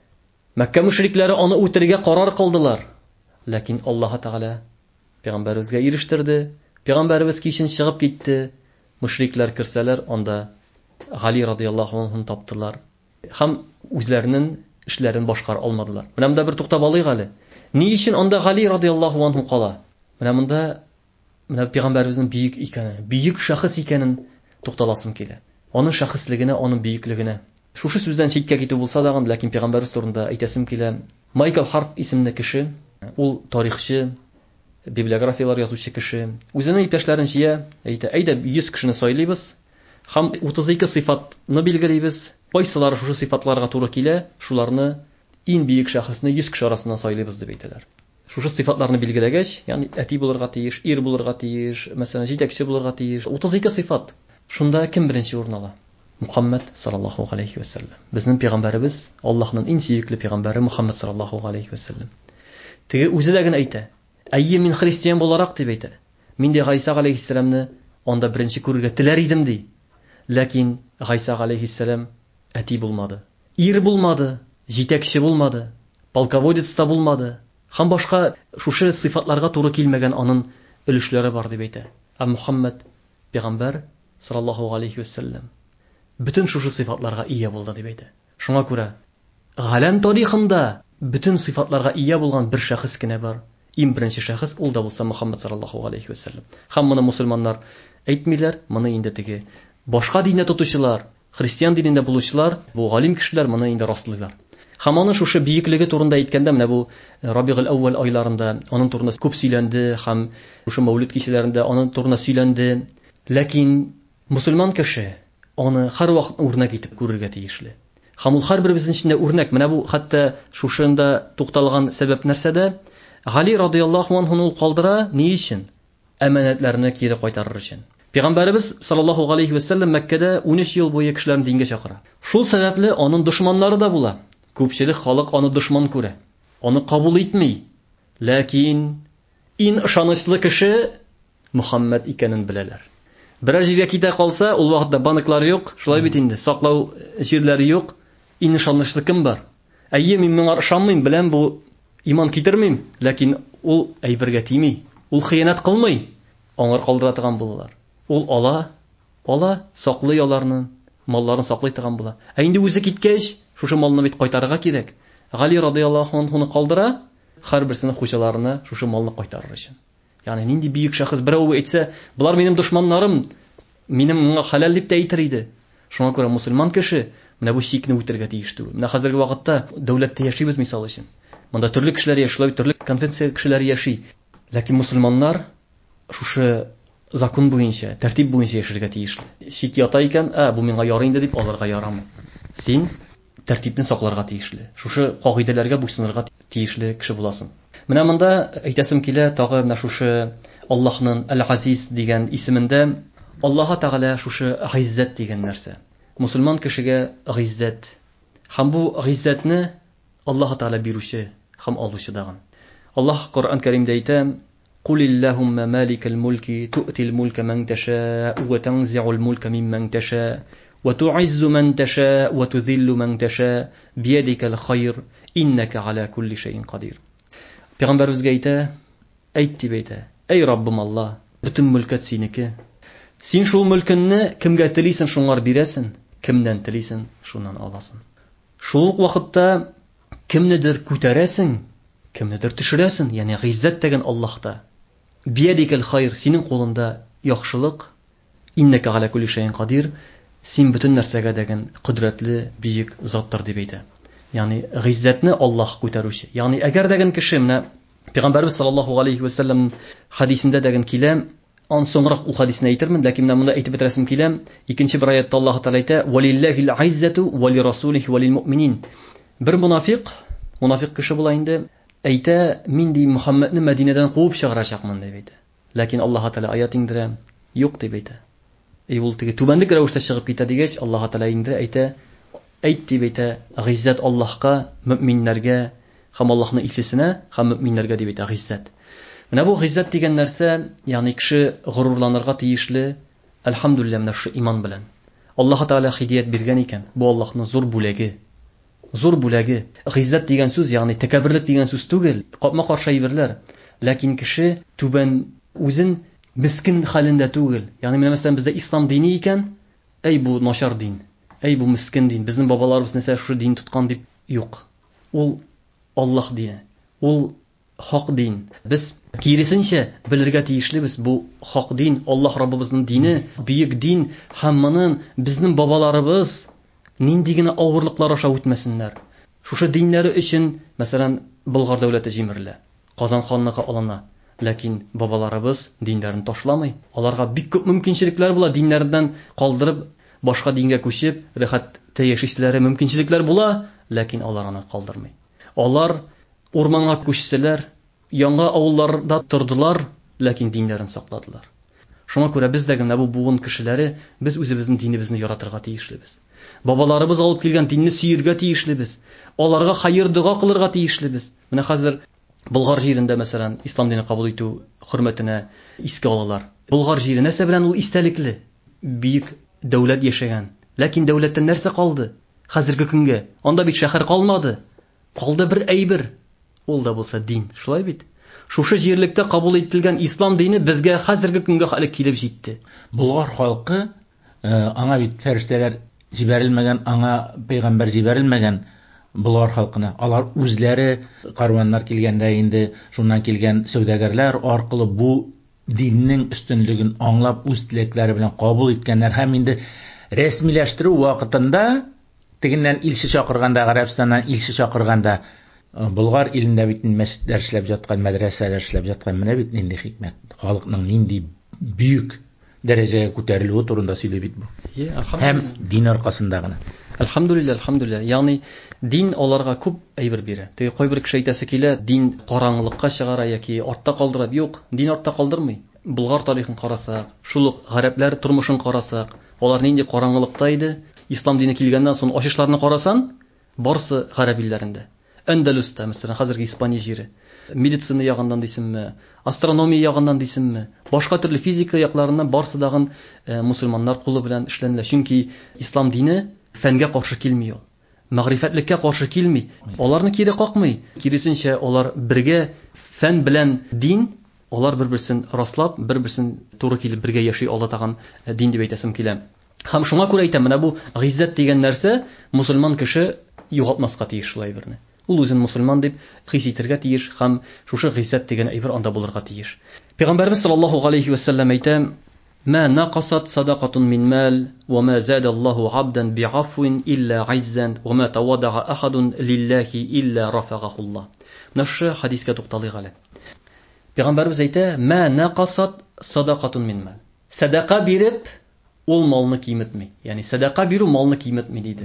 S2: Мәккә мушрикләре аны үтергә карар кылдылар. Ләкин Аллаһ Тәгалә пәйгамбәрбезгә ирештерде. Пәйгамбәрбез кичен чыгып китте. Мушрикләр кирсәләр, анда Гали радиллаһу анһу таптылар. Һәм үзләренең эшләрен башкар алмадылар. Менә монда бер туктап алыйк әле. Ни өчен анда Гали радиллаһу анһу кала? Менә монда пәйгамбәрбезнең бийек икәнен, бийек шәхес икәнен тукталасым килә. Аның шәхеслегенә, аның бийеклегенә. Шушы сүздән читкә китү булса да, ләкин пәйгамбәрбез турында әйтәсем килә. Майкл Харф исемле кеше, ул тарихчы, библиографиялар язучы кеше, үзенең иптәшләрен җыя, әйтә, әйдә 100 кешене сайлыйбыз һәм 32 сыйфатны билгеләйбез. Кайсылары шушы сыйфатларга туры килә, шуларны иң бийек шәхесне 100 кеше арасыннан сайлыйбыз дип әйтәләр. Шушы сыйфатларны билгеләгәч, ягъни әти булырга тиеш, ир булырга тиеш, мәсәлән, җитәкче булырга тиеш. 32 сыйфат. Шунда кем беренче урын ала? Мухаммад саллаллаху алейхи ва саллям. Безнең пәйгамбәрбез, Аллаһның иң сөйкеле пәйгамбәре Мухаммад саллаллаху алейхи ва саллям. Теге үзе дә генә әйтә. Әйе, мин христиан буларак дип әйтә. Мин дә Гайса алейхиссаламны анда беренче күрергә теләр идем ди. Ләкин Гайса алейхиссалам әти булмады. Ир булмады, җитәкче булмады, полководец та булмады. Һәм башка шушы сыйфатларга туры килмәгән аның өлешләре бар дип әйтә. Мухаммад пәйгамбәр саллаллаху алейхи ва саллям bütün шушы сыйфатларга ия булды дип әйтә. Шуңа күрә галәм тарихында bütün сыйфатларга ия булган бер шәхес кенә бар. Иң беренче шәхес ул да булса Мухаммад саллаллаху алейхи ва саллям. Һәм моны мусульманнар әйтмиләр, моны инде теге башка динне тотучылар, христиан динендә булучылар, бу галим кешеләр моны инде раслыйлар. Һәм аның шушы бийеклеге турында әйткәндә, менә бу Рабигъул әүвәл айларында аның турында күп сөйләнде, һәм шушы мәүлид кичәләрендә аның турында сөйләнде. Ләкин мусульман кеше аны һәр вакыт үрнәк итеп күрергә тиешле. Һәм ул һәрбер безнең өчен үрнәк. Менә бу хәтта шушында тукталган сәбәп нәрсәдә? Гали радиллаһу анһу ул калдыра ни өчен? Әманәтләрне кире кайтарыр өчен. Пәйгамбәрбез саллаллаху алейхи ва саллям Мәккәдә 13 ел буе кешеләрне дингә чакыра. Шул сәбәпле аның дошманнары да була. Күпчелек халык аны дошман күрә. Аны кабул итми. Ләкин иң ышанычлы кеше Мухаммад икәнен беләләр. Берәр җиргә китә калса, ул вакытта банклар юк, шулай бит инде, саклау җирләре юк. Ишанычлы кем бар? Әйе, мин моңа ышанмыйм, белән бу иман китермим, ләкин ул әйбергә тими. Ул хыянат кылмый. Аңар калдыра торган булалар. Ул ала, саклый аларны, малларын саклый торган була. Ә инде үзе киткәч, шушы малны бит кайтарырга кирәк. Гали радиллаһу анхуны калдыра, һәрберсенең хуҗаларына шушы малны кайтарыр өчен. Ягъни нинди бийек шәхес берәү әйтсә, булар минем дошманнарым, минем моңа халал дип тә әйтер иде. Шуңа күрә мусульман кеше менә бу чикне үтәргә тиеш түгел. Менә хәзерге вакытта дәүләттә яшибез мисал өчен. Монда төрле кешеләр яши, төрле конфессия кешеләр яши. Ләкин мусульманнар шушы закон буенча, тәртип буенча яшәргә тиешле. Чик ята икән, бу миңа ярый инде дип алырга ярамый. Син тәртипне сакларга тиешле. Шушы кагыйдәләргә буйсынырга тиешле кеше буласың. Менә монда әйтәсем килә, тагы менә шушы Аллаһның Әл-Азиз дигән исемендә Аллаһ Тәгалә шушы гыйззәт дигән нәрсә. Мусульман кешегә гыйззәт. Һәм бу гыйззәтне Аллаһ Тәгалә бирүче һәм алучы даган. Аллаһ Коръән Кәримдә әйтә: "Кул иллаһумма маликал мулки ту'тил мулка ман ташаа ва танзи'ул мулка мимман ташаа ва ту'иззу ман ташаа ва tudhillu man tashaa biyadikal khayr innaka ala kulli shay'in qadir." Пәйгамбәребезгә әйт дип әйтә: "Эй Раббым Алла, бөтен мөлкәт синеке. Син шул мөлкенне кемгә телисең шуңар бирәсең, кемнән телисең шуннан аласың. Шул ук вакытта кемнедер күтәрәсең, кемнедер төшерәсең, ягъни гыйззәт дигән Аллаһта. Биядикал хайр, синең кулында яхшылык, иннека ала кулли шайин кадир, син бөтен нәрсәгә дигән кудрәтле, бийек заттыр дип әйтә. Ягъни гыйззәтне Аллаһ күтәрүче. Ягъни әгәр дигән кеше менә Пәйгамбәрбез саллаллаһу алейхи ва саллям хадисендә дигән килә, ан соңрак ул хадисне әйтермен, ләкин менә монда әйтеп бетерәсем килә. Икенче бер аятта Аллаһ Тәгалә әйтә: "Валиллаһил айззату ва лирасулихи ва лилмуъминин." Бер мунафиq кеше була инде, әйтә: "Мин ди Мөхәммәдне Мәдинәдән куып чыгарачакмын" дип әйтә. Ләкин Аллаһ Тәгалә аят индерә: "Юк" дип әйтә. Ул теге түбәнлек рәвештә чыгып китә дигәч, Аллаһ Тәгалә индерә, әйтә: "Әйт" дип әйтә: "Гыйззәт Аллаһка, мөэминнәргә, һәм Аллаһның илчесенә, һәм мөэминнәргә" дип әйтә гыйззәт. Менә бу гыйззәт дигән нәрсә, ягъни кеше горурланырга тиешле, әлхәмдүлилләh, менә шу иман белән. Аллаһ Тәгалә хидият биргән икән. Бу Аллаһның зур бүләге. Зур бүләге. Гыйззәт дигән сүз, ягъни тәкәбберлек дигән сүз түгел. Капма каршы әйберләр. Ләкин кеше түбән үзен мискин хәлендә түгел. Ягъни менә мәсәлән бездә ислам дине икән, бу начар дин. Бу мискин дин. Безнең бабаларыбыз нәрсә шу дин тоткан дип юк. Ул Аллаһ дине. Ул хак дин. Без киресенчә белергә тиешлебез, бу хак дин, Аллаһ Раббыбызның дине, бийек дин, һәм моның безнең бабаларыбыз нинди генә авырлыклар аша үтмәсеннәр. Шушы диннәре өчен, мәсәлән, Болгар дәүләте җимерелә, Казан ханлыгы алына. Ләкин бабаларыбыз диннәрен ташламый. Аларга бик күп мөмкинчелекләр була, диннәрдән калдырып, башка дингә күчеп, рәхәттә яшишләре мөмкинчелекләр була, ләкин алар аны калдырмый. Алар урманга күчсәләр, яңа авылларда тордылар, ләкин диннәрен сакладылар. Шуңа күрә без дә генә бу буын кешеләре, без үзебезнең динебезне яратырга тиешлебез. Бабаларыбыз алып килгән динне сөергә тиешлебез. Аларга хәер дуга кылырга тиешлебез. Менә хәзер Болгар җирендә, мәсәлән, ислам динен кабул итү хөрмәтенә искә алалар. Болгар җире нәрсә белән ул истәлекле? Бийек дәүләт яшәгән. Ләкин дәүләттән нәрсә калды? Хәзерге көнгә анда бит шәһәр калмады. Калды бер әйбер. Ул да булса дин. Шулай бит. Шушы җирлектә кабул ителгән ислам дине безгә хәзерге көнгә хәле килеп җитте.
S1: Болгар халкы аңа бит фәрештәләр җибәрелмәгән, аңа пәйгамбәр җибәрелмәгән. Болгар халкына алар үзләре карваннар килгәндә инде шуннан килгән сәүдәгәрләр аркылы бу диннең өстенлеген аңлап үз теләкләре белән кабул иткәннәр һәм инде рәсмиләштерү вакытында тегеннән илче чакырганда, Гарәбстаннан илче чакырганда Болгар илендә бит мәчетләр эшләп jatkан, мәдрәсәләр эшләп jatkан. Менә бит нинди хикмәт. Халыкның нинди бүйек дәрәҗәгә күтәрелүе турында сөйли бит бу. Һәм дин аркасында гына.
S2: Алхамдулиллах. Ягъни дин аларга күп әйбер бирә. Теге кайбер кеше әйтәсе килә, дин караңгылыкка чыгара яки артта калдыра. Юк, дин артта калдырмый. Болгар тарихын карасак, шул гарәпләр тормышын карасак, алар нинди караңгылыкта иде. Ислам дине килгәннән соң ачышларны карасан, барсы гарәп илләрендә. Әндәлүстә, мәсәлән, хәзерге Испания җире. Медицина ягыннан дисемме, астрономия ягыннан дисемме, башка төрле физика якларыннан барсы дагын мусульманнар кулы белән эшләнелә. Чөнки ислам дине фәнгә каршы килми ул. Мәгърифәтлеккә каршы килми. Аларны кире какмый. Киресенчә, алар бергә фән белән дин, алар бер-берсен раслап, бер-берсен туры килеп бергә яши ала таган дин дип әйтәсем килә. Һәм шуңа күрә әйтәм, менә бу гыйззәт дигән нәрсә мусульман кеше югалтмаска тиеш шулай берне. Ул үзен мусульман дип хис итәргә тиеш һәм шушы гыйззәт дигән әйбер анда булырга тиеш. Пәйгамбәрбез саллаллаһу алейхи ва саллям әйтә: "Ма нақасат садақатун мин мал ва ма зада Аллаһу 'абдан би'афвин илля 'иззан ва ма тавадда'a ахадун лиллаһи илля рафагаху Аллаһ." Менә шушы хадискә тукталыйк әле. Пәйгамбәрбез әйтә: "Ма нақасат садақатун мин мал." Садақа биреп, ул малны киметми. Ягъни садақа бирү малны киметми диде.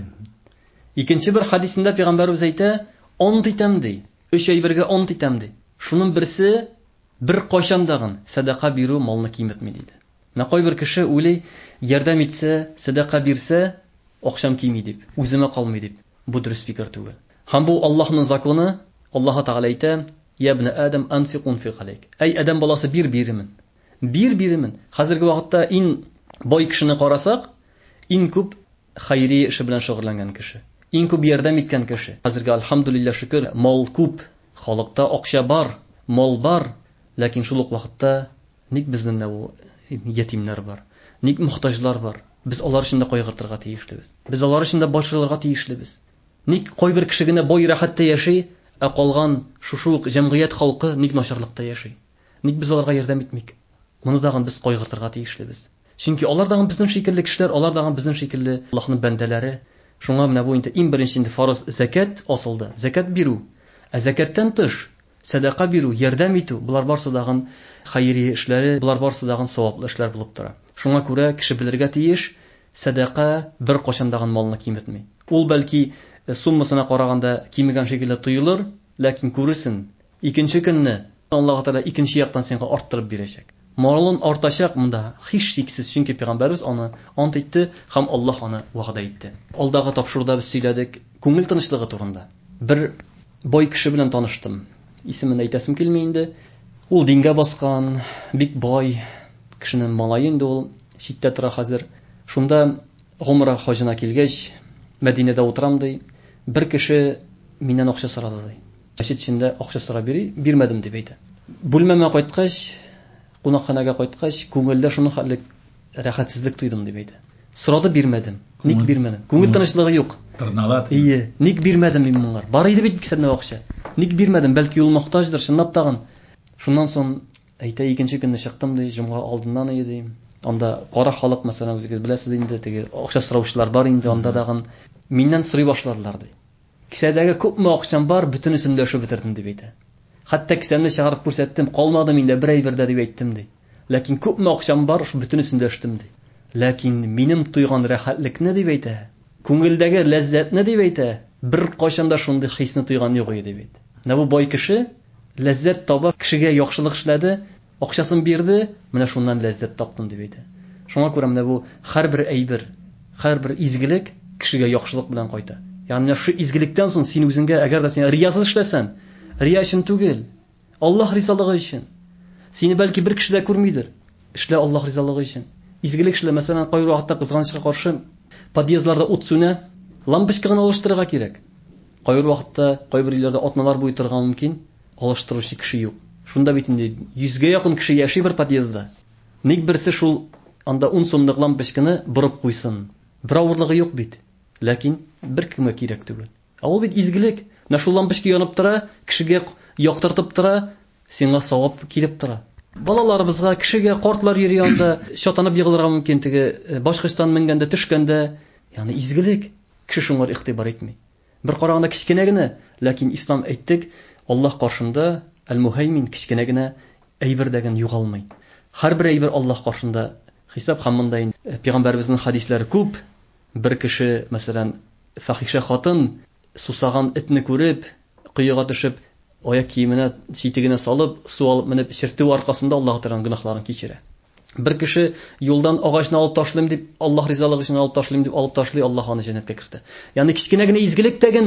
S2: Икенче бер хадисендә Пәйгамбәрбез әйтә: "Ант итәм ди, 3 әйбергә ант итәм ди. Шуның берсе бер кайчандагын садақа бирү малны киметми" диде. Менә кайбер кеше уйлый, ярдәм итсә, садақа бирсә, акчам кими дип, үземә калмый дип. Бу дөрес фикер түгел. Һәм бу Аллаһның законы. Аллаһ Тәгалә әйтә: "Я ибн Адам анфиq унфиq алейк." Әй адам баласы, биремен. Биремен. Хәзерге вакытта ин бай кешене карасак, ин күп хайри эше белән шөгыльләнгән кеше. Ин күп ярдәм иткән кеше. Хәзерге альхамдулилла шөкер, мал күп, халыкта акча бар, мал бар, ләкин шул ук вакытта ник безнең бу ятимнәр бар, ник мохтаҗлар бар. Без алар өчен дә кайгыртырга тиешлебез. Без алар өчен дә башылырга тиешлебез. Ник кайбер кеше генә бай рәхәттә яши, ә калган шушы җәмгыять халкы ник начарлыкта яши? Ник без аларга ярдәм итмик? Моны дагы без кайгыртырга тиешлебез. Чөнки алар дагы безнең шикелле кешеләр, алар дагы безнең шикелле Аллаһның бәндәләре. Шуңа менә бу инде иң беренче инде фарыз закат асылды. Закат бирү. Ә закаттан тыш садақа бирү, ярдәм итү, булар барсы дагы хайри эшләре, булар барсы дагы саваплы эшләр булып тора. Шуңа күрә кеше белергә тиеш, садақа бер кашан дагы малны киметми. Ул бәлки суммасына караганда кимегән шикелле тоелыр, ләкин күресен, икенче көнне Аллаһ Тәгалә икенче яктан сиңа арттырып бирәчәк. Малын артачак монда һич шиксез, чөнки Пәйгамбәрбез аны ант итте һәм Аллаһ аны вәгъдә итте. Алдагы тапшыруда без сөйләдек күңел тынычлыгы турында. Бер бай кеше белән таныштым. Исемен әйтәсем килми инде. Ул дингә баскан, бик бай кешенең малае инде ул, читтә тора хәзер. Шунда гомра хаҗына килгәч, Мәдинәдә утырам ди. Бер кеше миннән акча сорады ди. Мәчет эчендә акча сорап бирмәдем дип әйтә. Бүлмәмә кайткач, кунакханага кайткач, күңелдә шуны хәтлек рәхәтсезлек тойдым дип әйтә. Сорады, бирмәдем. Ник бирмәдем? Күңел тынычлыгы юк.
S1: Тырналат.
S2: Ник бирмәдем мин моңар? Бар иде бит кисәнә акча. Ник бирмәдем? Бәлки ул мохтаҗдыр, чынлап тагын. Шуннан соң әйтә, икенче көнне чыктым ди, җомга алдыннан иде. Анда кара халык, мәсәлән, үзегез беләсез инде, теге акча сораучылар бар инде, анда дагы миннән сорый башладылар ди. Кисәдәге күпме акчам бар, бөтенесен дә шуп бетердем дип әйтә. Хәтта кисәмне чыгарып күрсәттем, калмады миндә бер әйбердә дип әйттем ди. Ләкин күпме акчам бар, шу бөтенесен дә эштем ди. Ләкин минем туйган рәхәтлекне дип әйтә, күңелдәге ләззәтне дип әйтә, бер кайчанда шундый хисне туйган юк иде дип әйтә. Менә бу бай кеше ләззәт таба, кешегә яхшылык эшләде, акчасын бирде, менә шуннан ләззәт таптым дип әйтә. Шуңа күрә менә бу һәрбер әйбер, һәрбер изгелек кешегә яхшылык белән кайта. Ягъни менә шу изгелектән соң син үзеңгә, әгәр дә син риясыз эшләсәң, рия өчен түгел, Аллаһ ризалыгы өчен. Сине бәлки бер кеше дә күрмидер. Эшлә Аллаһ ризалыгы өчен. Изгелек эшлә, мәсәлән, кайбер вакытта кызганычка каршы подъездларда ут сүнә, лампочка гына алыштырырга кирәк. Кайбер вакытта, кайбер илләрдә атналар буе торган мөмкин, алыштыручы кеше юк. Шунда бит инде 100гә якын кеше яши бер подъездда. Ник берсе шул анда 10 сумлык лампочканы борып куйсын? Бер авырлыгы юк бит. Ләкин бер кемгә кирәк түгел. Ул бит изгелек. Менә шул лампочка янып тора, кешегә яктыртып тора, сиңа савап килеп тора. Балаларыбызга, кешегә, картлар йөри анда шатанып егылырга мөмкин, теге башкычтан менгәндә, төшкәндә, ягъни изгелек. Кеше шуңар игътибар итми. Бер караганда кичкенә генә, ләкин ислам әйттек, Аллаһ каршында әл-мухаймин кичкенә генә әйбердәген югалмый. Һәрбер әйбер Аллаһ каршында хисап һәм монда Пәйгамбәрбезнең хадисләре күп. Бер кеше, мәсәлән, фахиша хатын сусаган этне күреп, кыйга төшеп, аяк киеменә читегенә салып, су алып менеп чиртү аркасында Аллаһ Тәгаләнең гөнаһларын кичерә. Бер кеше юлдан агачны алып ташлыйм дип, Аллаһ ризалыгы өчен алып ташлыйм дип алып ташлый, Аллаһ аны җәннәткә кертә. Ягъни кичкенә генә изгелек тәген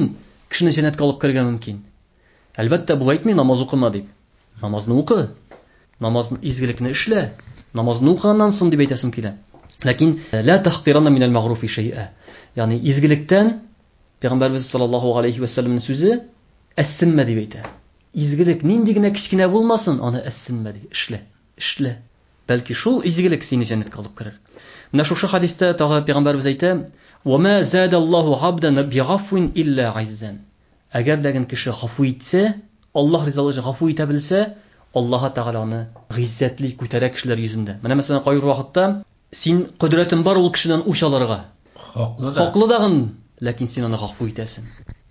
S2: кешене җәннәткә алып керергә мөмкин. Әлбәттә, бу әйтми намаз укыма дип. Намазны укы. Намазны изгелекне эшлә. Намазны укыганнан соң дип әйтәсем килә. Ләкин ла тахтиранна минал магруфи шай'a. Ягъни изгелектән Пәйгамбәрбез саллаллаху алейхи ва салламның сүзе әссенмә дип әйтә. Изгелек нинди генә кичкенә булмасын, аны әссенмә дип эшлә. Бәлки шул изгелек сине җәннәткә алып керер. Менә шушы хадистә тагы Пәйгамбәрбез әйтә: "Ва ма задаллаху 'абдан би'афвин илля 'иззан". Әгәр дәген кеше гафу итсә, Аллаһ ризалыгы өчен гафу итә белсә, Аллаһ Тәгалә аны гыйззәтле күтәрә кешеләр йөзендә. Менә мәсәлән, кайбер вакытта син кудрәтең бар ул кешедән үч алырга. Хаклы дагын, ләкин син аны гафу итәсең.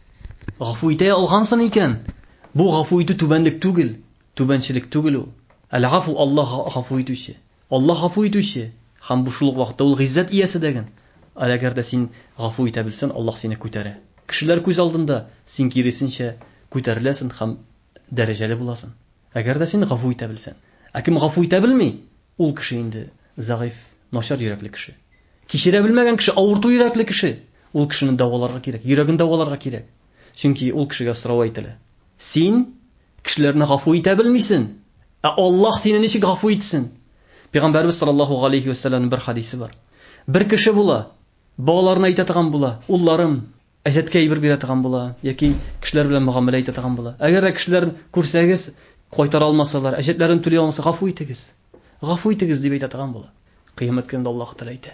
S2: Гафу итә алгансың икән. Бу гафу итү түбәнлек түгел, түбәнчелек түгел ул. Әл-гафу Аллаһ гафу итүче. Аллаһ гафу итүче. Һәм бу шул вакытта ул гыйззәт иясе дәген. Әгәр дә син гафу итә белсәң, Аллаһ сине күтәрә. Кешеләр күз алдында син киресенчә күтәреләсең һәм дәрәҗәле буласың. Әгәр дә син гафу итә белсәң. Кем гафу итә белми, ул кеше инде заиф, начар йөрәкле кеше. Кичерә белмәгән кеше, авырту йөрәкле кеше. Ул кешене дәваларга кирәк, йөрәген дәваларга кирәк. Чөнки ул кешегә сорау әйтелә. Син кешеләрне гафу итә белмисең. Аллаһ сине ничек гафу итсен? Пәйгамбәрбез саллаллаху алейхи ва салламның бер хадисе бар. Бер кеше була, балаларына әйтә торган була, улларым, әҗәткә әйбер бирә торган була, яки кешеләр белән мөгамәлә итә торган була. Әгәр дә кешеләр күрсәгез, кайтара алмасалар, әҗәтләрен түли алмаса, гафу итегез. Гафу итегез дип әйтә торган була. Кыямәт көндә Аллаһ Тәгалә әйтә: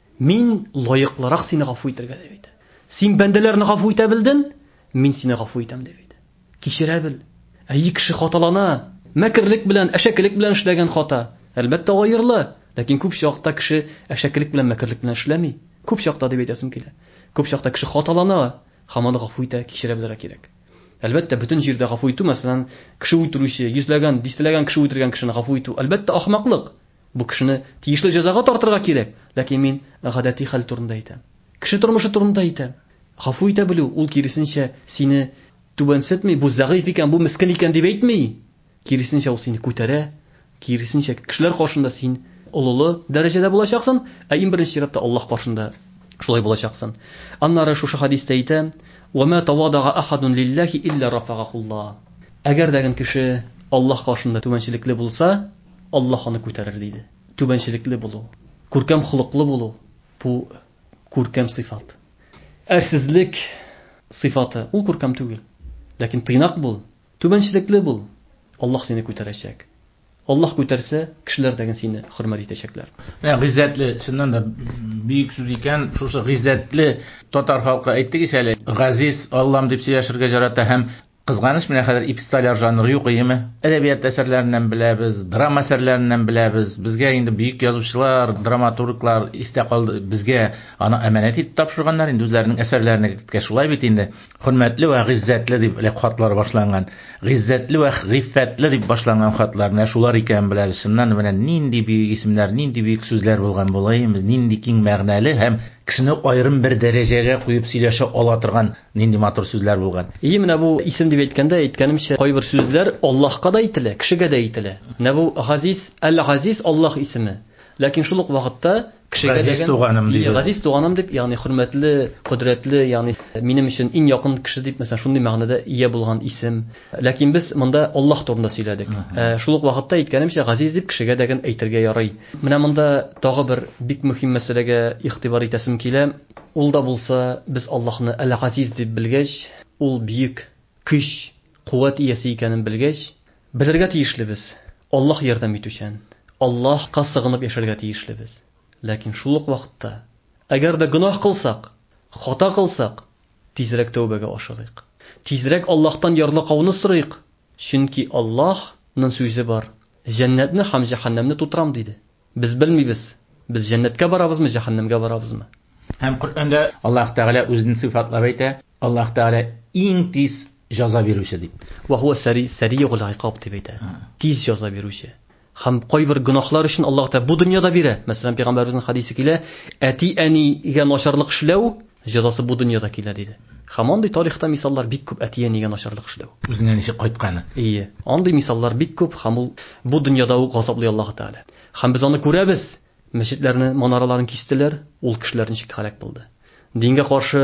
S2: "Мин лаеклырак сине гафу итәргә" дип әйтә. Син бәндәләрне гафу итә белдең, мин сине гафу итәм дип әйтә. Кичерә бел. Кеше хаталана, мәкерлек белән, әшәкелек белән эшләгән хата. Әлбәттә аерылы, ләкин күп чакта кеше әшәкелек белән, мәкерлек белән эшләми. Күп чакта дип әйтәсем килә. Күп чакта кеше хаталана, һәм аны гафу итә, кичерә белергә кирәк. Әлбәттә, бөтен җирдә гафу итү, мәсәлән, кеше үтерүче, йөзләгән, дистәләгән кеше үтергән кешене гафу итү, әлбәттә ахмаклык. Бу кешене тиешле җәзага тартырга кирәк. Ләкин мин гадәти хәл турында әйтәм. Кеше тормышы турында әйтәм. Гафу итә белү, ул киресенчә сине түбәнсетми, бу заиф икән, бу мискин икән дип әйтми. Киресенчә ул сине күтәрә. Киресенчә кешеләр каршында син олылы дәрәҗәдә булачаксың, иң беренче чиратта Аллаһ каршында шулай булачаксың. Аннары шушы хадистә әйтә: "Ва ма тавадага ахадун лиллаһи илля рафагахуллаһ". Әгәр дәген кеше Аллаһ каршында түбәнчелекле булса, Аллаһ аны күтәрер диде. Түбәнчелекле булу, күркәм холыклы булу, бу күркәм сыйфат. Әрсезлек сыйфаты, ул күркәм түгел. Ләкин тыйнак бул, түбәнчелекле бул. Аллаһ сине күтәрәчәк. Аллаһ күтәрсә, кешеләр дәген сине хөрмәт итәчәкләр.
S1: Гыйззәтле, чыннан да бик сүз икән. Шушы гыйззәтле татар халкы әйттегез әле. Газиз Аллам дип сөйләшергә ярата һәм кызганыч менә хәзер эпистоляр жанры юк иеме? Әдәбият әсәрләреннән беләбез, драма әсәрләреннән беләбез. Безгә инде бөек язучылар, драматурглар истә калды. Безгә аны әманәт итеп тапшырганнар инде үзләренең әсәрләренә. Шулай бит инде. Хөрмәтле ва гыйззәтле дип хатлар башланган. Гыйззәтле ва гыйффәтле дип башланган хатлар. Менә шулар икән беләбез. Шуннан менә нинди бөек исемнәр, нинди бөек сүзләр булган булайбыз, нинди киң мәгънәле һәм кешене аерым бер дәрәҗәгә куеп сөйләшә ала торган нинди матур сүзләр булган.
S2: Менә бу исем дип әйткәндә, әйткәнемчә, кайбер сүзләр Аллаһка да әйтелә, кешегә дә әйтелә. Менә бу Газиз, Әл-Газиз Аллаһ исеме. Ләкин шул ук вакытта кешегә дигән Газиз туганым дип, ягъни хөрмәтле, кудрәтле, ягъни минем өчен иң якын кеше дип, мәсәлән, шундый мәгънәдә ия булган исем. Ләкин без монда Аллаһ турында сөйләдек. Шул ук вакытта әйткәнемчә, Газиз дип кешегә дигән әйтергә ярый. Менә монда тагы бер бик мөһим мәсьәләгә игътибар итәсем килә. Ул да булса, без Аллаһны Әл-Газиз дип белгәч, ул бөек көч, куәт иясе икәнен белгәч, белергә тиешлебез. Аллаһ ярдәм итүчән. Аллаһка сыгынып яшәргә тиешлебез. Ләкин шул ук вакытта, әгәр дә гынаһ кылсак, хата кылсак, тизрәк тәүбәгә ашыгыйк. Тизрәк Аллаһтан ярлыгауны сорыйк. Чөнки Аллаһның сүзе бар. Җәннәтне һәм җәһәннәмне тутырам диде. Без белмибез. Без җәннәткә барабызмы, җәһәннәмгә барабызмы?
S1: Һәм Коръәндә Аллаһ Тәгалә үзен сыйфатлап әйтә. Аллаһ Тәгалә иң тиз җәза бирүче дип.
S2: Ва хуа сари'ул иқаб дип әйтә. Тиз җәза бирүче. Һәм кайбер гынаһлар өчен Аллаһ Тәгалә бу дөньяда бирә. Мәсәлән, Пәйгамбәребезнең хадисе килә: "Әти-әнигә начарлык эшләү җәзасы бу дөньяда килә" диде. Һәм андый тарихта мисаллар бик күп, әти-әнигә начарлык эшләү.
S1: Үзенә ничек кайтканы.
S2: Андый мисаллар бик күп, һәм ул бу дөньяда ук газаплый Аллаһ Тәгалә. Һәм без аны күрәбез. Мәчетләрне, манараларын кистеләр, ул кешеләр ничек халак булды. Дингә каршы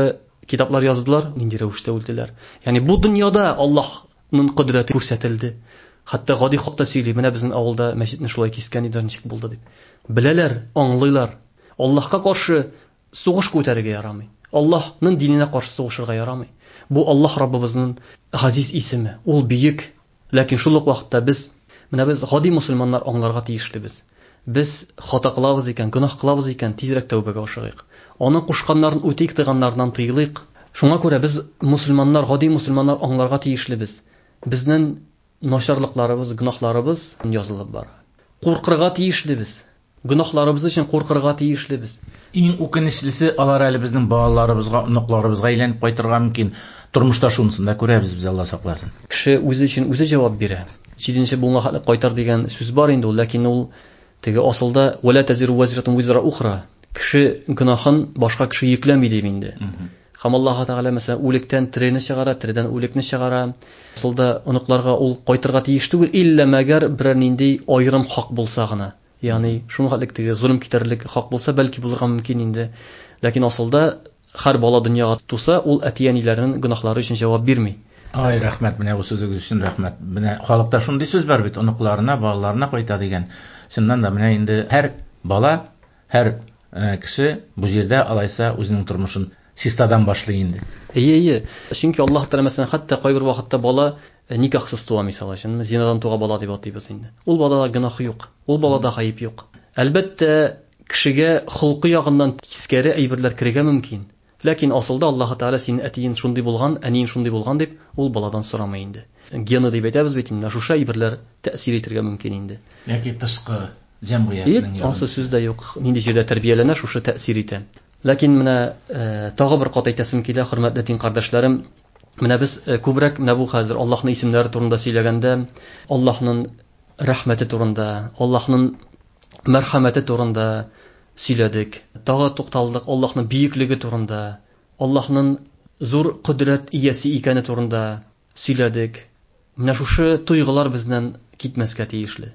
S2: китаплар яздылар, нинди рәвештә үлделәр. Ягъни бу дөньяда Аллаһның кудрәте күрсәтелде. Хәтта гади хакта сөйли, менә безнең авылда мәчетне шулай кискән иде, ничек булды дип. Беләләр, аңлыйлар. Аллаһка каршы сугыш күтәрергә ярамый. Аллаһның диненә каршы сугышырга ярамый. Бу Аллаһ Раббыбызның газиз исеме. Ул бийек, ләкин шул ук вакытта без гади мусульманнар аңларга тиешлебез. Без хата кылабыз икән, гөнаһ кылабыз икән, тизрәк тәүбәгә ашыгыйк. Аның кушканнарын үтик, тыйганнардан тыйлыйк. Шуңа күрә без мусульманнар, гади мусульманнар аңларга тиешлебез. Безнең начарлыкларыбыз, гөнаһларыбыз язылып бара. Куркырга тиешлебез. Гөнаһларыбыз өчен куркырга тиешлебез.
S1: Иң үкенечлесе, алар әле безнең балаларыбызга, оныкларыбызга әйләнеп кайтырга мөмкин. Тормышта шунысын да күрәбез, без Алла сакласын.
S2: Кеше үзе өчен үзе җавап бирә. Җиденче булма кайтар дигән сүз бар инде ул, ләкин ул теге асылда вала тазиру вазратун визра ухра. Кеше гөнаһын башка кеше йөкләми дип инде. Һәм Аллаһ Тәгалә мәсәлән үлектән тирене чыгара, тиредән үлекне чыгара. Асылда оныкларга ул кайтырга тиеш түгел, илля мәгәр берәр нинди аерым хак булса гына. Ягъни шуңа теге зулм китерлек хак булса, бәлки булырга мөмкин инде. Ләкин асылда һәр бала дөньяга туса, ул әтияниләренең гөнаһлары өчен җавап бирми.
S1: Ай, рәхмәт, менә бу сүзегез өчен рәхмәт. Менә халыкта шундый сүз бар бит, оныкларына, балаларына кайта дигән. Шуннан да менә инде һәр бала, һәр кеше бу җирдә алайса үзенең тормышын систадан башлый инде.
S2: Ие. Чөнки Аллаһ Тәгалә мәсәлән хәтта кайбер вакытта бала никахсыз туа, мисалы өчен, зинадан туга бала дип атыйбыз инде. Ул балада гөнаһ юк, ул балада гаип юк. Әлбәттә, кешегә холкы ягыннан тискәре әйберләр кирергә мөмкин. Ләкин асылда Аллаһ Тәгалә син әтиен шундый булган, әниен шундый булган дип ул баладан сорамый инде. Гены дип әйтәбез бит инде, шушы әйберләр тәэсир итәргә мөмкин инде.
S1: Яки тышкы җәмгыятьнең
S2: ягы. Асы сүздә юк, нинди җирдә тәрбияләнә, шушы тәэсир итә. Ләкин менә тагы бер кат әйтәсем килә, хөрмәтле дин кардәшләрем, менә без күбрәк менә бу хәзер Аллаһның исемнәре турында сөйләгәндә, Аллаһның рәхмәте турында, Аллаһның мәрхәмәте турында сөйләдек. Тагы тукталдык Аллаһның бийеклеге турында, Аллаһның зур кудрәт иясе икәне турында сөйләдек. Менә шушы туйгылар безнән китмәскә тиешле.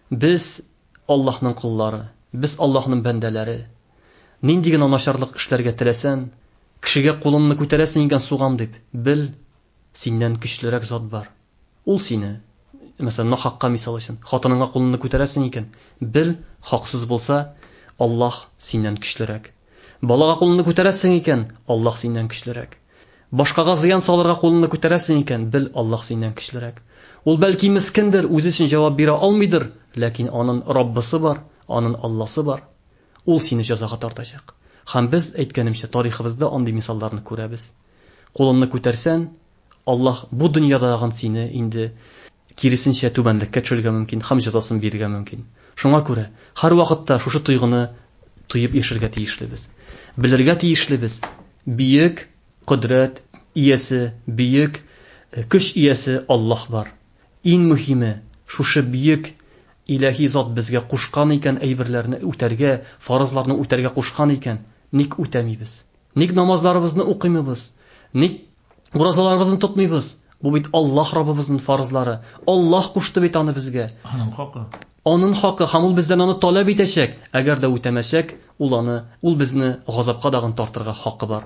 S2: Без Аллаһның куллары, без Аллаһның бәндәләре. Нинди генә начарлык эшләргә теләсән, кешегә кулыңны күтәрәсең икән сугам дип, бел, синнән көчлерәк зат бар. Ул сине, мәсәлән, нахакка мисал өчен, хатыныңа кулыңны күтәрәсең икән, бел, хаксыз булса, Аллаһ синнән көчлерәк. Балага кулыңны күтәрәсең икән, Аллаһ синнән көчлерәк. Башкага зыян салырга кулыңны күтәрәсең икән, бел, Аллаһ синнән көчлерәк. Ул бәлки мискендер, үзе өчен җавап бирә алмыйдыр, ләкин аның Раббысы бар, аның Алласы бар. Ул сине җәзага тартачак. Һәм без әйткәнемчә тарихыбызда андый мисалларны күрәбез. Кулыңны күтәрсән, Аллаһ бу дөньядагы сине инде киресенчә түбәнлеккә төшерергә мөмкин, һәм җәзасын бирергә мөмкин. Шуңа күрә һәр вакытта шушы туйгыны тоеп яшәргә тиешлебез. Белергә тиешлебез. Бийек кудрәт иясе, бийек көч иясе Аллаһ бар. Иң мөһиме, шушы бийек илаһи зат безгә кушкан икән әйберләрне үтәргә, фарызларны үтәргә кушкан икән, ник үтәмибез? Ник намазларыбызны укымыйбыз? Ник уразаларыбызны тотмыйбыз? Бу бит Аллаһ Раббыбызның фарызлары. Аллаһ кушты бит аны безгә.
S1: Аның хакы.
S2: Аның хакы, һәм ул бездән аны таләп итәчәк. Әгәр дә үтәмәсәк, ул безне газапка дагын тартырга хакы бар.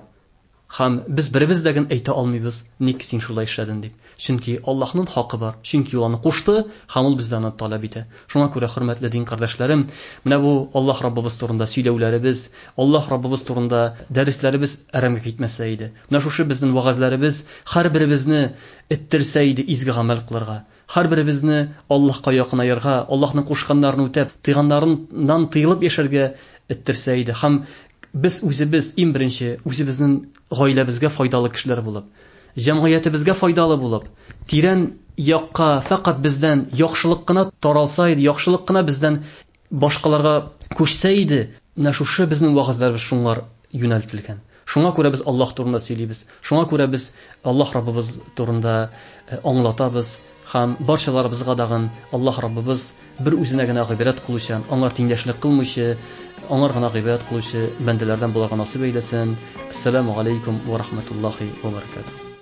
S2: Һәм без беребездәген әйтә алмыйбыз, ник син шулай эшләдең дип. Чөнки Аллаһның хакы бар. Чөнки ул аны кушты, һәм ул бездән аны таләп итә. Шуңа күрә, хөрмәтле дин кардәшләрем, менә бу Аллаһ Раббыбыз турында сөйләүләребез, Аллаһ Раббыбыз турында дәресләребез әрәмгә китмәсә иде. Менә шушы безнең вагазларыбыз һәрберебезне ittirсә иде изге гамәл кылырга. Һәрберебезне Аллаһка якынаерга, Аллаһның кушканнарын үтәп, тыйганнарыннан тыелып яшәргә ittirсә иде. Һәм biz үзебез иң беренче үзебезнең гаиләбезгә файдалы кешеләр булып, җәмгыятебезгә файдалы булып, тирән якка фақат бездән яхшылык кына таралса иде, яхшылык кына бездән башкаларга күчсә иде, менә шушы безнең вагызларыбыз шуңар юнәлтелгән. Шуңа күрә без Аллаһ турында сөйлибез. Шуңа күрә без Аллаһ Раббыбыз турында аңлатабыз. Һәм барчаларыбызга дагы Аллаһ Раббыбыз бер үзенә генә гыйбарәт кылучан, аңар тиңдәшлек кылмыйчы, аңар гына гыйбарәт кылучы бәндәләрдән буларга насыйп әйләсен. Ассаламу алейкум ва рахматуллаһи ва баракатуһ.